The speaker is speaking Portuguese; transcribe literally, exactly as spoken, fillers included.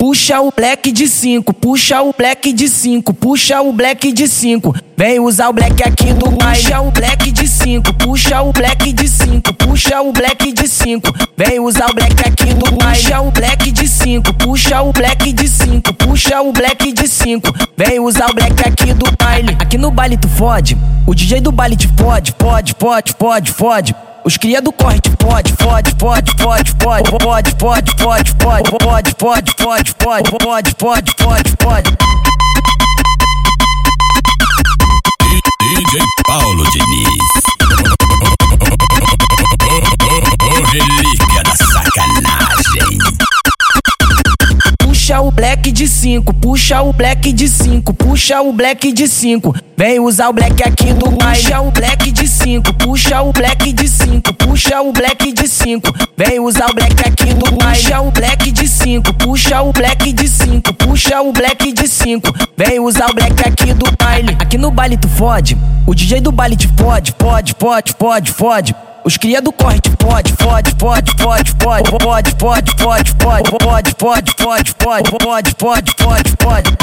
Puxa o black de cinco, puxa o black de cinco, puxa o black de cinco. Vem usar o black aqui do baile. Puxa o black de cinco, puxa o black de cinco, puxa o black de cinco. Vem usar o black aqui do baile. Puxa o black de cinco, puxa o black de cinco, puxa o black de cinco. Vem usar o black aqui do baile. Aqui no baile tu fode, o D J do baile te fode, fode, fode, fode, fode. Os cria do corre te fode, fode, fode, fode, fode, fode, fode, fode, fode, fode, fode, fode, fode, fode, fode, fode, fode. D J Paulo Diniz, o relíquia da sacanagem. Puxa o black de cinco, puxa o black de cinco, puxa o black de cinco. Vem usar o black aqui do baile. Puxa o black de cinco, puxa o black de cinco, puxa o black de cinco. Vem usar o black aqui do baile. Puxa o black de cinco, puxa o black de cinco, puxa o black de cinco. Vem usar o black aqui do baile. Aqui no baile tu fode, o D J do baile te fode, fode, fode, fode, fode. Os cria do corre te fode, fode, fode, fode, fode, fode, fode, fode, fode, fode, fode, fode, fode, fode, fode, fode, fode.